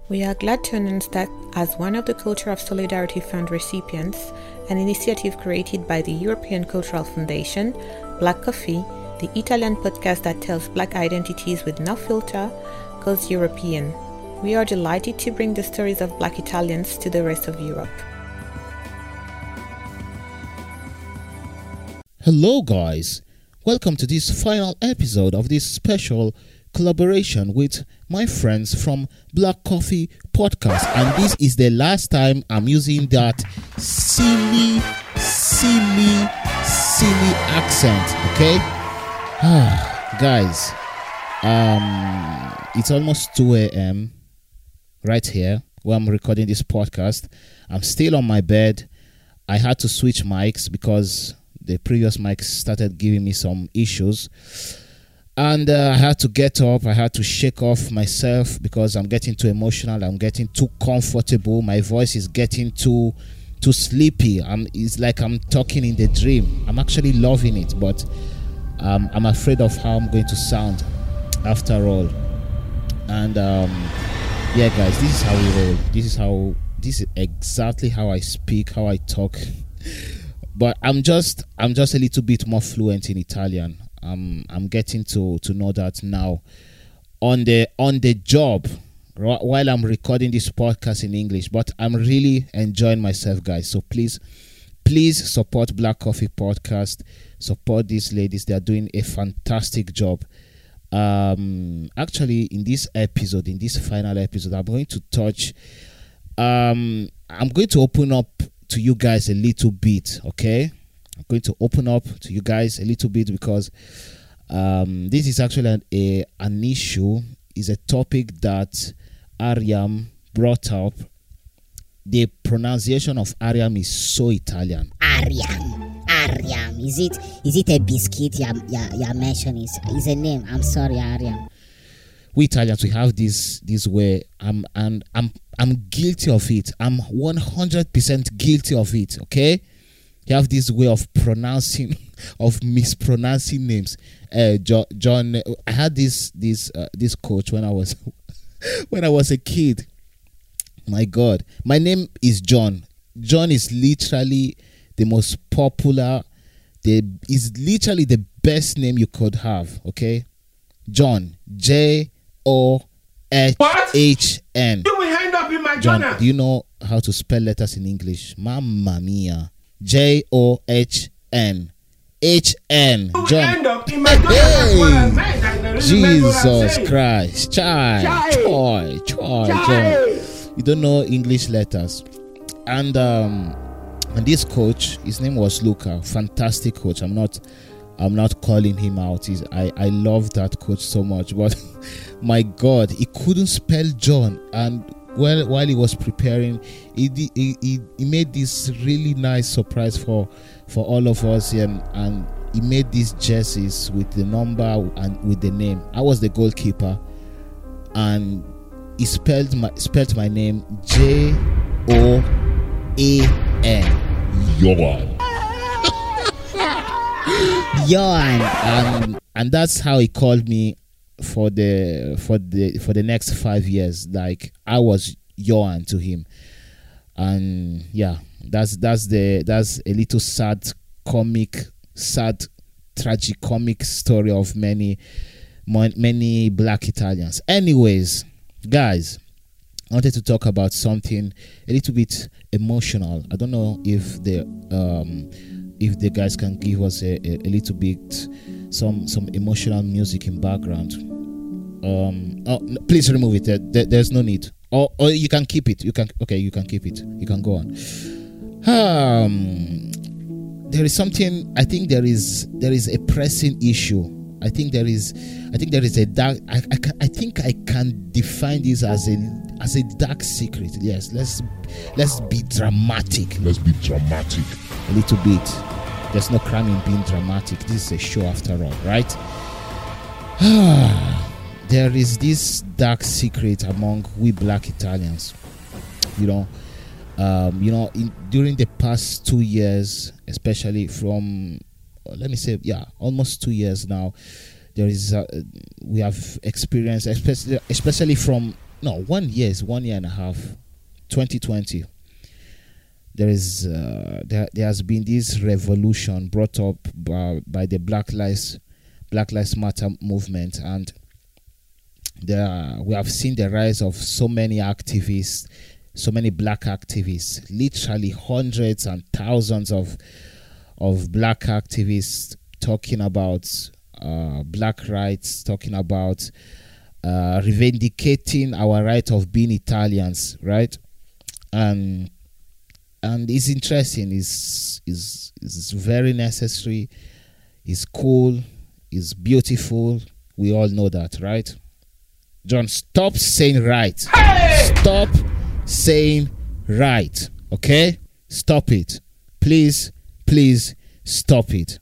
We are glad to announce that as one of the Culture of Solidarity Fund recipients, an initiative created by the European Cultural Foundation, Black Coffee, the Italian podcast that tells Black identities with no filter, goes European. We are delighted to bring the stories of Black Italians to the rest of Europe. Hello guys, welcome to this final episode of this special collaboration with my friends from Black Coffee Podcast, and this is the last time I'm using that silly accent, okay? Guys, it's almost 2 a.m. right here where I'm recording this podcast. I'm still on my bed. I had to switch mics because the previous mics started giving me some issues. And I had to get up. I had to shake off myself because I'm getting too emotional. I'm getting too comfortable. My voice is getting too sleepy. It's like I'm talking in the dream. I'm actually loving it, but I'm afraid of how I'm going to sound after all. And yeah, guys, this is how we roll. This is exactly how I speak, how I talk. But I'm just a little bit more fluent in Italian. I'm getting to know that now on the job while I'm recording this podcast in English. But I'm really enjoying myself, guys. So please support Black Coffee Podcast. Support these ladies. They are doing a fantastic job. Actually, in this final episode, I'm going to touch. I'm going to open up to you guys a little bit, okay? I'm going to open up to you guys a little bit because this is actually an issue, is a topic that Ariam brought up. The pronunciation of Ariam is so Italian. Ariam. Is it a biscuit you're mentioning? Is a name? I'm sorry, Ariam. We Italians, we have this way. I'm guilty of it. I'm 100% guilty of it. Okay, you have this way of mispronouncing names. John, I had this coach when I was a kid. My God, my name is John. John is literally the most popular. Is literally the best name you could have. Okay, John, John. You will end up in my John, journal. do you know how to spell letters in English? Mamma mia. John. End up in my journal. Jesus Christ. Choi. John. You don't know English letters. And this coach, his name was Luca. Fantastic coach. I'm not calling him out. I love that coach so much, but my God, he couldn't spell John. And while he was preparing, he made this really nice surprise for all of us, and he made these jerseys with the number and with the name. I was the goalkeeper, and he spelled my name Joan. Johan. And that's how he called me for the next 5 years. Like I was Johan to him. And yeah, that's a little sad tragic comic story of many Black Italians. Anyways, guys, I wanted to talk about something a little bit emotional. I don't know if the guys can give us a little bit some emotional music in background. Oh, no, please remove it. There's no need. Or you can keep it. You can keep it. You can go on. There is something. I think there is a pressing issue. I think there is a dark. I think I can define this as a dark secret. Yes, let's be dramatic. Let's be dramatic. A little bit. There's no crime in being dramatic. This is a show after all, right? There is this dark secret among we Black Italians. During the past 2 years, especially from, almost 2 years now, there is we have experienced, especially from no, 1 year is 1 year and a half, 2020. There has been this revolution brought up by the Black Lives Matter movement, and we have seen the rise of so many activists, so many black activists, literally hundreds and thousands of black activists talking about black rights, talking about revindicating our right of being Italians, right? And it's interesting. It's very necessary. It's cool. It's beautiful. We all know that, right? John, stop saying right. Hey! Stop saying right. Okay? Stop it. Please stop it.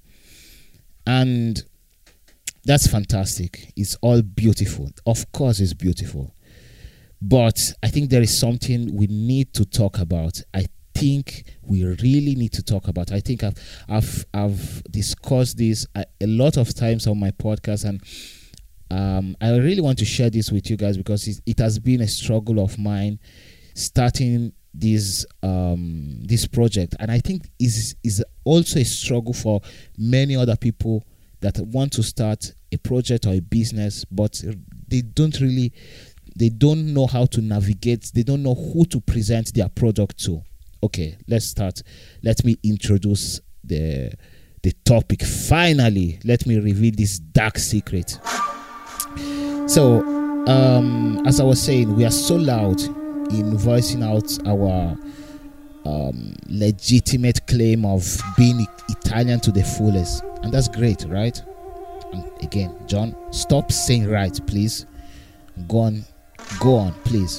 And that's fantastic. It's all beautiful. Of course it's beautiful. But I think there is something we need to talk about. I think we really need to talk about. I think I've discussed this a lot of times on my podcast, and I really want to share this with you guys because it has been a struggle of mine starting this project, and I think is also a struggle for many other people that want to start a project or a business, but they don't know how to navigate. They don't know who to present their product to. Okay, let's start. Let me introduce the topic. Finally, let me reveal this dark secret. So, as I was saying, we are so loud in voicing out our legitimate claim of being Italian to the fullest, and that's great, right? And again, John, stop saying right, please. Go on, please.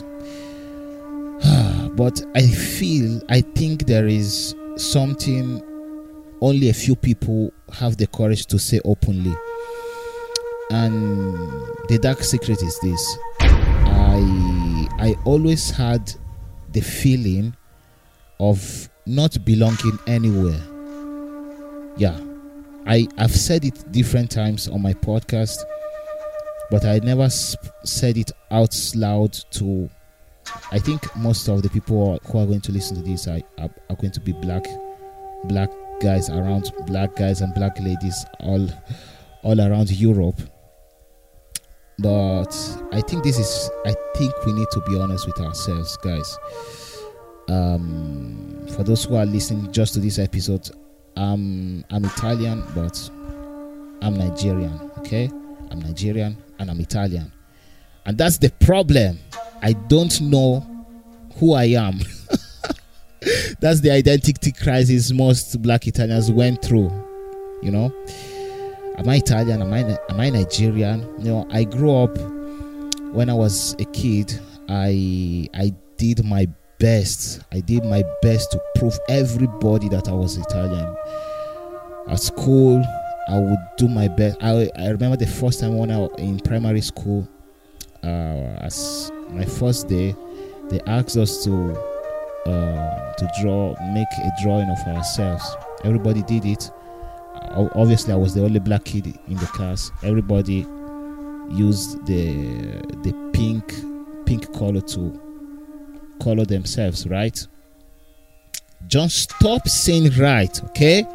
But I think there is something only a few people have the courage to say openly, and the dark secret is this. I always had the feeling of not belonging anywhere. Yeah, I've said it different times on my podcast, but I never said it out loud to. I think most of the people who are going to listen to this are going to be black guys around, black guys and black ladies all around Europe. But I think we need to be honest with ourselves, guys. For those who are listening just to this episode, I'm Italian, but I'm Nigerian. Okay, I'm Nigerian and I'm Italian, and that's the problem. I don't know who I am. That's the identity crisis most black Italians went through. You know, am I Italian? Am I Nigerian? You know, I grew up, when I was a kid, I did my best. I did my best to prove everybody that I was Italian. At school, I would do my best. I remember the first time when I was in primary school, as my first day, they asked us to make a drawing of ourselves. Everybody did it. Obviously, I was the only black kid in the class. Everybody used the pink color to color themselves, right? Just stop saying right, okay?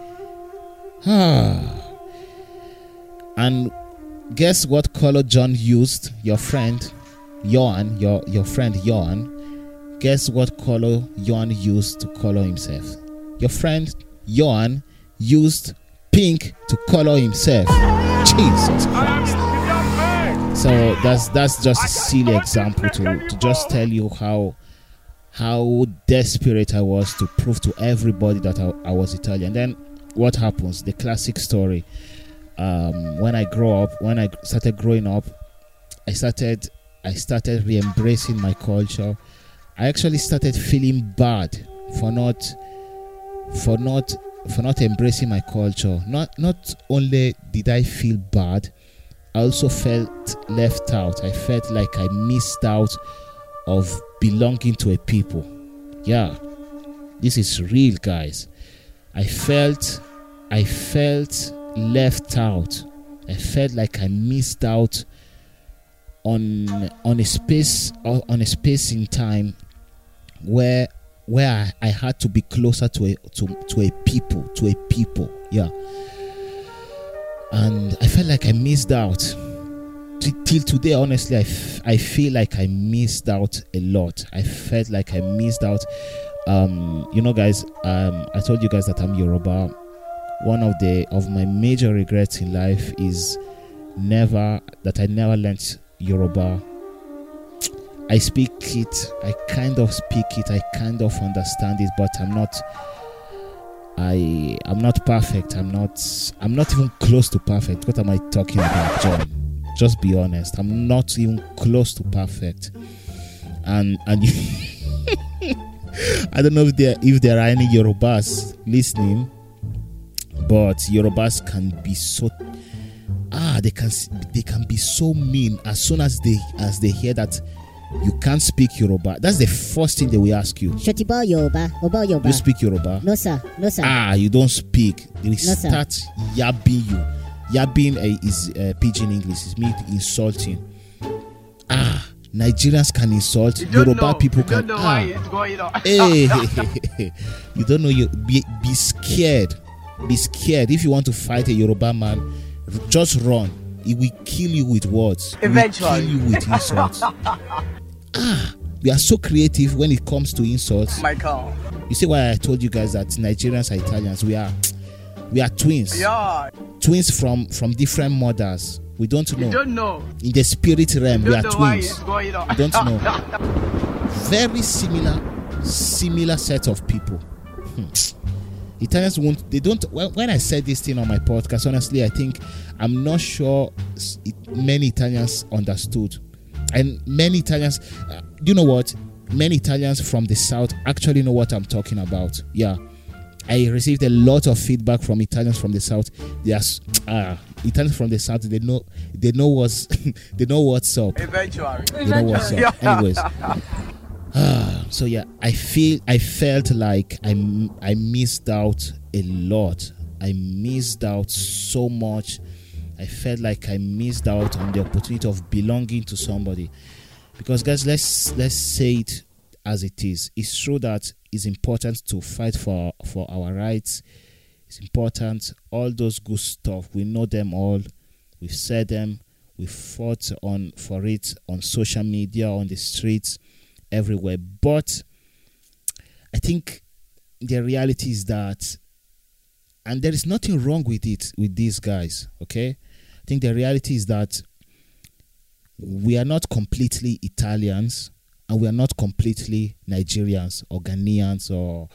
And guess what color John used? Your friend Johan, your friend Johan. Guess what color Johan used to color himself? Your friend Johan used pink to color himself. Jesus Christ. So that's just a silly example to just tell you how desperate I was to prove to everybody that I was Italian. Then what happens? The classic story. When I started growing up, I started re-embracing my culture. I actually started feeling bad for not embracing my culture. Not only did I feel bad, I also felt left out. I felt like I missed out of belonging to a people. Yeah, this is real, guys. I felt left out. I felt like I missed out on a space in time where I had to be closer to a people, yeah. And I felt like I missed out. Till today, honestly, I feel like I missed out a lot. I felt like I missed out. Guys, I told you guys that I'm Yoruba. One of my major regrets in life is I never learned Yoruba. I speak it, I kind of speak it, I kind of understand it, but I'm not perfect. I'm not even close to perfect. What am I talking about, John? Just be honest. I'm not even close to perfect. And I don't know if there are any Yorubas listening, but Yorubas can be so they can be so mean as soon as they hear that you can't speak Yoruba. That's the first thing they will ask you. Shotiba Yoruba. You speak Yoruba? No sir. You don't speak. They will No, sir. start yabbing you. Yabbing is pidgin English. It's me insulting. Nigerians can insult. Yoruba people can. You don't know why it's going on. Hey, you don't know. You be scared. Be scared. If you want to fight a Yoruba man, just run. He will kill you with words. Eventually. He will kill you with insults. We are so creative when it comes to insults. My God. You see why I told you guys that Nigerians are Italians? We are twins. Yeah. Twins from different mothers. We don't know. You don't know. In the spirit realm, You we are don't know why twins. it's going on. We don't know. Very similar set of people. Italians when I said this thing on my podcast, honestly, I'm not sure many Italians understood. And many Italians, you know what? Many Italians from the South actually know what I'm talking about. Yeah. I received a lot of feedback from Italians from the South. They are Italians from the South. They know what's up. Eventually. They know what's up. Anyways. So yeah, I felt like I missed out a lot. I missed out so much. I felt like I missed out on the opportunity of belonging to somebody. Because guys, let's say it as it is. It's true that it's important to fight for our rights. It's important. All those good stuff, we know them all. We've said them. We've fought for it on social media, on the streets, everywhere. But I think the reality is that, and there is nothing wrong with it with these guys, okay? I think the reality is that we are not completely Italians and we are not completely Nigerians or Ghanaians or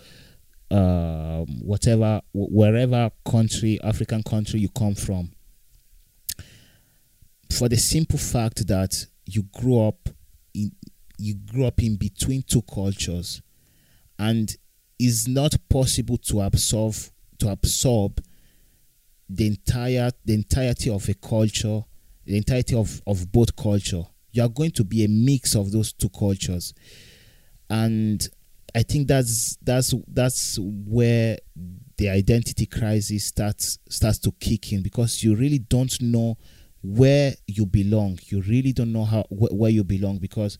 wherever country, African country you come from. For the simple fact that you grew up in between two cultures, and it's not possible to absorb the entirety of a culture, the entirety of both culture. You are going to be a mix of those two cultures, and I think that's where the identity crisis starts to kick in, because you really don't know where you belong. You really don't know where you belong, because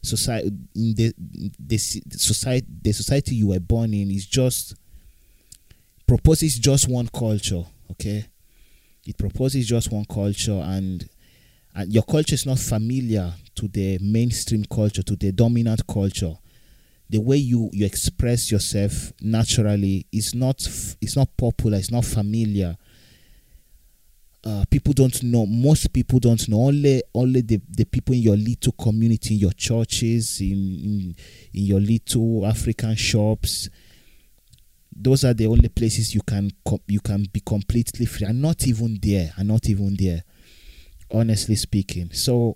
the society you were born in proposes just one culture. Okay, it proposes just one culture, and your culture is not familiar to the mainstream culture, to the dominant culture. The way you express yourself naturally is not popular. It's not familiar. People don't know. Most people don't know. Only the people in your little community, in your churches, in your little African shops. Those are the only places you can be completely free. I'm not even there. Honestly speaking. So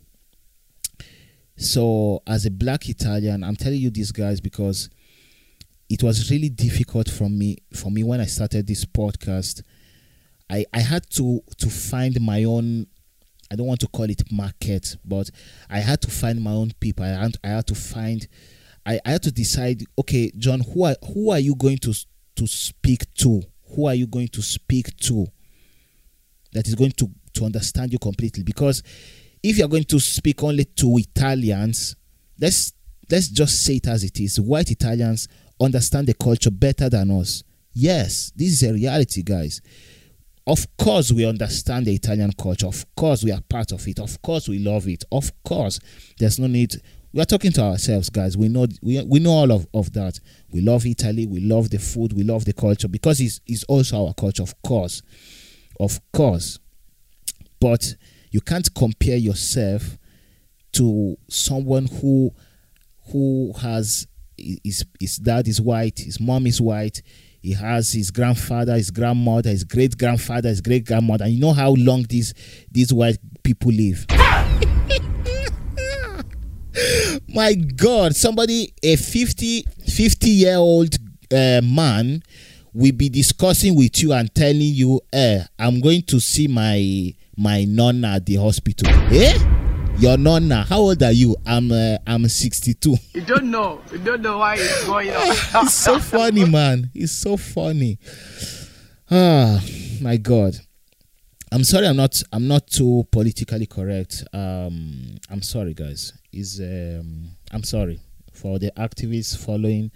as a black Italian, I'm telling you this, guys, because it was really difficult for me when I started this podcast. I had to find my own, I don't want to call it market, but I had to find my own people. I had to decide, okay, John, who are you going to speak to? Who are you going to speak to that is going to understand you completely? Because if you're going to speak only to Italians, let's just say it as it is. White Italians understand the culture better than us. Yes, this is a reality, guys. Of course, we understand the Italian culture. Of course, we are part of it. Of course, we love it. Of course, there's no need. We are talking to ourselves, guys. We know all of that. We love Italy. We love the food. We love the culture because it's also our culture, of course. Of course. But you can't compare yourself to someone who has his dad is white, his mom is white, he has his grandfather, his grandmother, his great grandfather, his great grandmother, and you know how long these white people live. My God, somebody, a 50-year-old man will be discussing with you and telling you, I'm going to see my nonna at the hospital. Your nonna, how old are you? I'm 62. You don't know why it's going on. It's so funny, man. It's so funny. Ah, my God. I'm sorry. I'm not too politically correct. I'm sorry, guys. I'm sorry for the activists following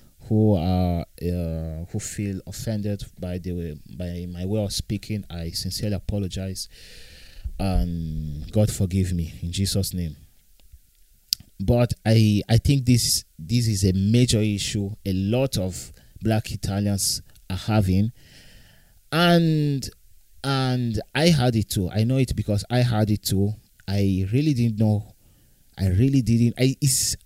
who feel offended by my way of speaking. I sincerely apologize. And God forgive me in Jesus' name. But I think this is a major issue a lot of black Italians are having, and I had it too. I know it because I had it too. I really didn't know. I really didn't. It's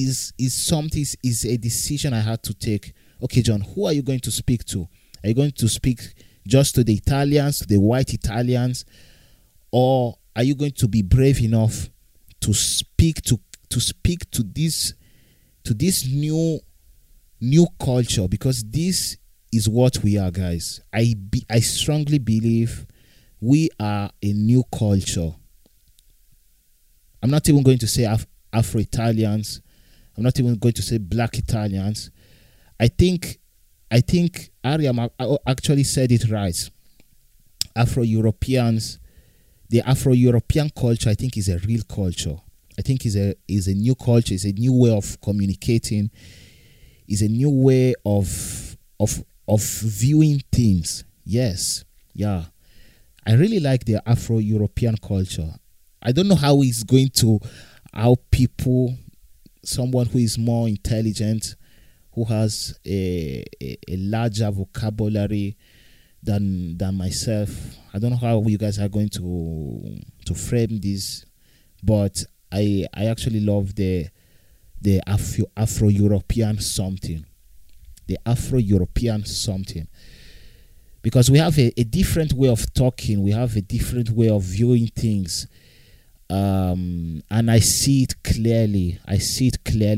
a decision I had to take. Okay, John, who are you going to speak to? Are you going to speak just to the Italians, to the white Italians? Or are you going to be brave enough to speak to this new culture? Because this is what we are, guys. I strongly believe we are a new culture. I'm not even going to say Afro-Italians. I'm not even going to say black Italians. I think Ariam actually said it right. Afro-Europeans. The Afro-European culture, I think, is a real culture. I think is a new culture. It's a new way of communicating. It's a new way of viewing things. Yes, yeah. I really like the Afro-European culture. I don't know how people, someone who is more intelligent, who has a larger vocabulary than myself. I don't know how you guys are going to frame this, but I actually love the Afro-European something. The Afro-European something. Because we have a different way of talking, we have a different way of viewing things. And I see it clearly. I've seen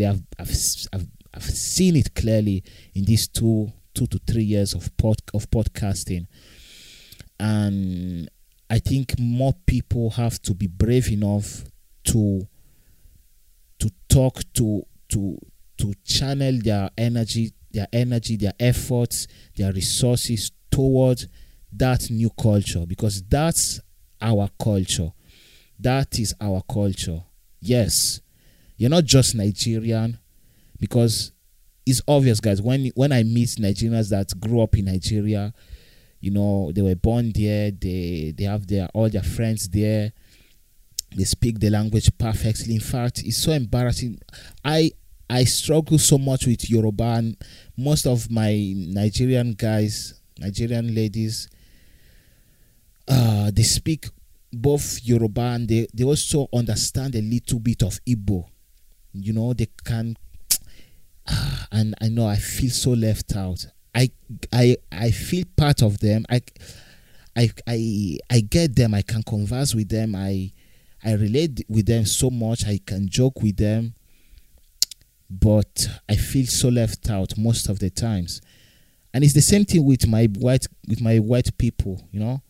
it clearly in these 2 to 3 years of podcasting, and I think more people have to be brave enough to talk to channel their energy, their efforts, their resources towards that new culture, because that's our culture. That is our culture. Yes, you're not just Nigerian, because it's obvious, guys. When I meet Nigerians that grew up in Nigeria, you know, they were born there, they have all their friends there, they speak the language perfectly. In fact, it's so embarrassing. I struggle so much with Yoruba, and most of my Nigerian ladies, they speak both Yoruba and they also understand a little bit of Igbo. You know, they can. And I know I feel so left out. I feel part of them. I get them. I can converse with them. I relate with them so much. I can joke with them, but I feel so left out most of the times. And it's the same thing with my white people. You know,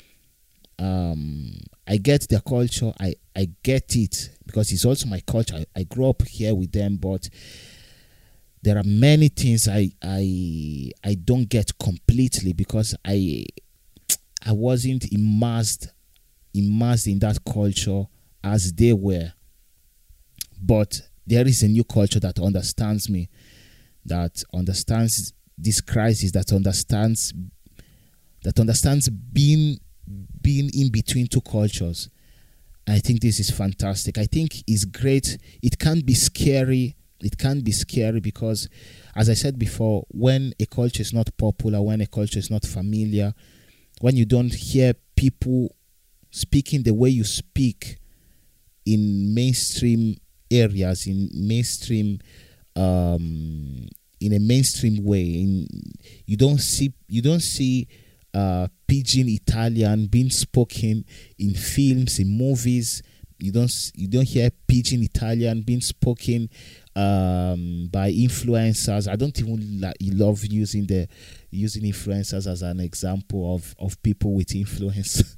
I get their culture. I get it because it's also my culture. I grew up here with them, but there are many things I don't get completely because I wasn't immersed in that culture as they were. But there is a new culture that understands me, that understands this crisis, that understands being in between two cultures. I think this is fantastic. I think it's great. It can be scary. It can be scary because, as I said before, when a culture is not popular, when a culture is not familiar, when you don't hear people speaking the way you speak in mainstream areas, in a mainstream way, you don't see pidgin Italian being spoken in films, in movies. You don't hear pidgin Italian being spoken by influencers. I don't even love using influencers as an example of people with influence.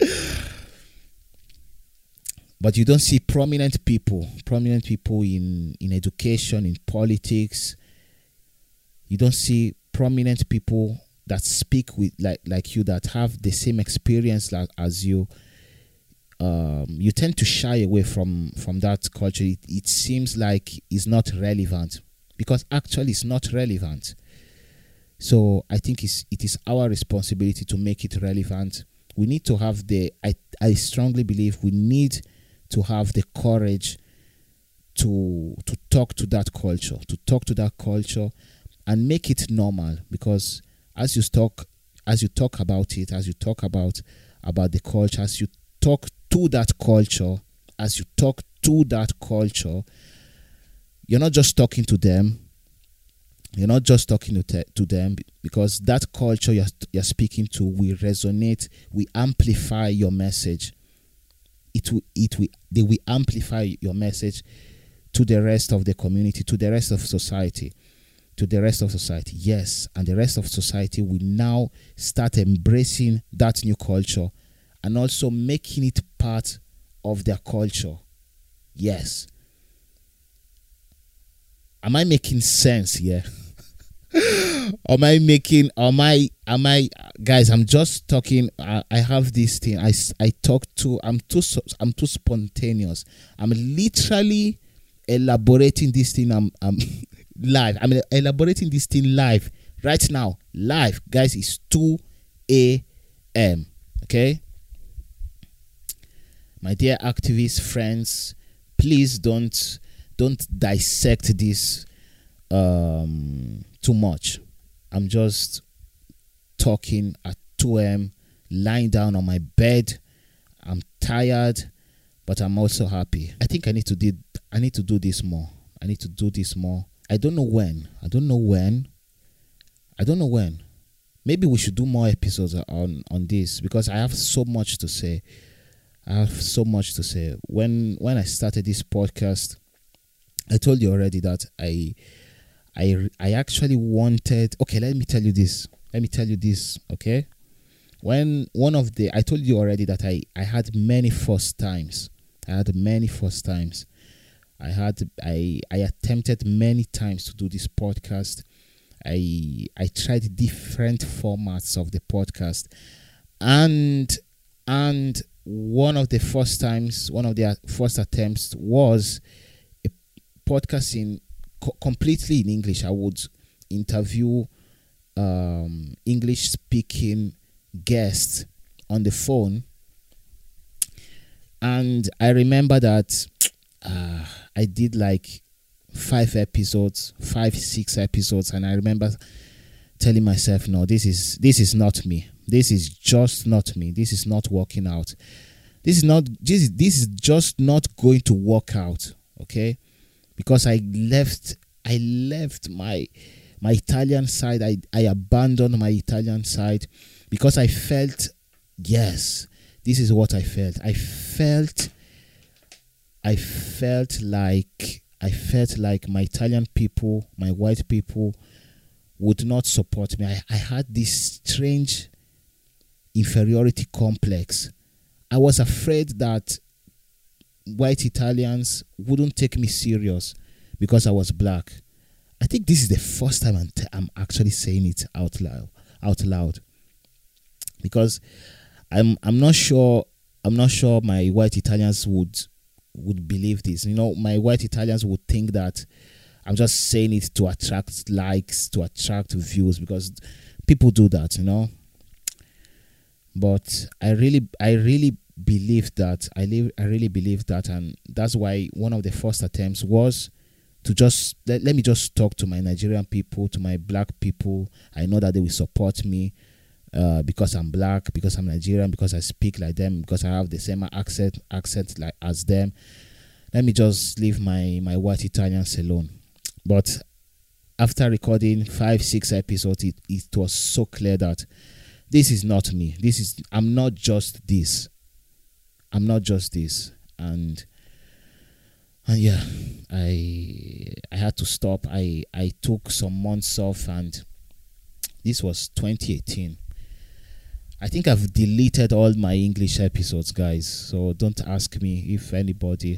But you don't see prominent people in education, in politics. You don't see prominent people that speak with like you, that have the same experience as you. You tend to shy away from that culture. It seems like it's not relevant, because actually it's not relevant. So I think it is our responsibility to make it relevant. We need to have I strongly believe we need to have the courage to talk to that culture, and make it normal. Because as you talk about it, as you talk about the culture, as you talk to that culture, you're not just talking to them. You're not just talking to them, because that culture you're speaking to will resonate, will amplify your message. They will amplify your message to the rest of the community, to the rest of society. Yes, and the rest of society will now start embracing that new culture and also making it part of their culture. Yes. Am I making sense here? Guys, I'm just talking. I have this thing. I'm too spontaneous. I'm literally elaborating this thing. I'm live. I'm elaborating this thing live right now. Live, guys. It's 2 a.m. Okay, my dear activist friends, please don't dissect this too much. I'm just talking at 2 a.m. lying down on my bed. I'm tired, but I'm also happy. I think I need to do this more. I don't know when. Maybe we should do more episodes on this, because I have so much to say. When I started this podcast, I told you already that I actually wanted. Okay, let me tell you this. Okay, I told you already that I had many first times. I attempted many times to do this podcast. I tried different formats of the podcast, and one of the first attempts was a podcast completely in English. I would interview English speaking guests on the phone, and I remember that I did like 6 episodes, and I remember telling myself, no, this is not me. This is just not me. This is not working out. This is just not going to work out. Okay, because I left my Italian side. I abandoned my Italian side because I felt, yes, this is what I felt. I felt like my Italian people, my white people, would not support me. I had this strange inferiority complex. I was afraid that white Italians wouldn't take me serious because I was black. I think this is the first time I'm actually saying it out loud, because I'm not sure my white Italians would would believe this. My white Italians would think that I'm just saying it to attract likes, to attract views, because people do that, But I really believe that. I really believe that, and that's why one of the first attempts was to just let me just talk to my Nigerian people, to my black people. I know that they will support me because I'm black, because I'm Nigerian, because I speak like them, because I have the same accent like as them. Let me just leave my white Italians alone. But after recording 5-6 episodes, it was so clear that this is not me. I'm not just this. I'm not just this. And yeah, I had to stop. I took some months off, and this was 2018. I think I've deleted all my English episodes, guys. So don't ask me if anybody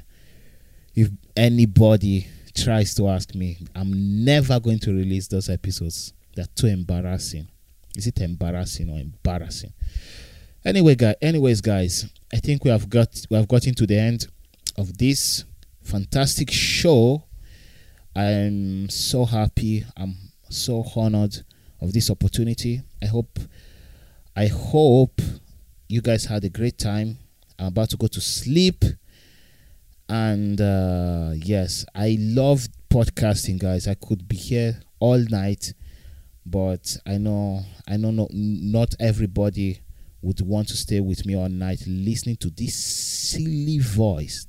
tries to ask me. I'm never going to release those episodes. They're too embarrassing. Is it embarrassing or embarrassing? Anyways, guys, I think we have gotten to the end of this fantastic show. I'm so happy. I'm so honored of this opportunity. I hope you guys had a great time. I'm about to go to sleep. And yes, I love podcasting, guys. I could be here all night, but I know not everybody would want to stay with me all night listening to this silly voice.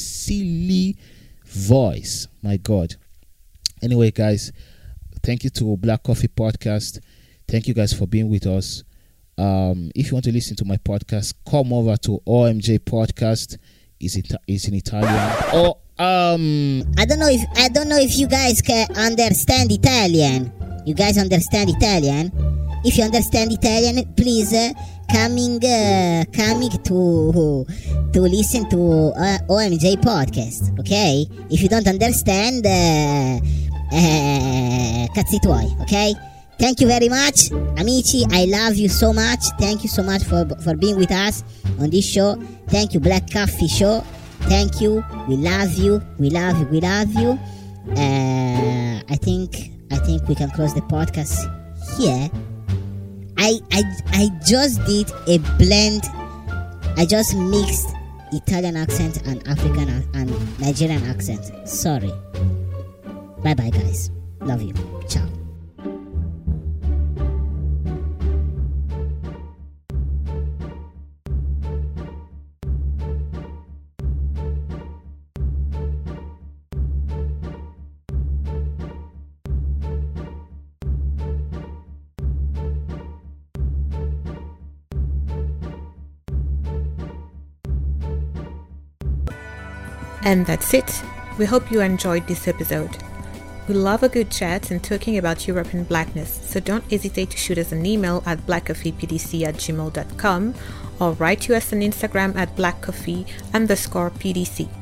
My God. Anyway, guys, thank you to Black Coffee Podcast. Thank you guys for being with us. If you want to listen to my podcast, come over to OMJ Podcast. Is in Italian. Or I don't know if you guys can understand Italian. You guys understand Italian? If you understand Italian, please coming to listen to OMJ Podcast. Okay? If you don't understand, cazzi tuoi. Okay? Thank you very much, amici. I love you so much. Thank you so much for being with us on this show. Thank you, Black Coffee Show. Thank you. We love you. We love you. We love you. I think we can close the podcast here. I just did a blend. I just mixed Italian accent and African and Nigerian accent. Sorry. Bye bye, guys. Love you. Ciao. And that's it. We hope you enjoyed this episode. We love a good chat and talking about European blackness, so don't hesitate to shoot us an email at blackcoffeepdc@gmail.com or write to us on Instagram at blackcoffee_PDC.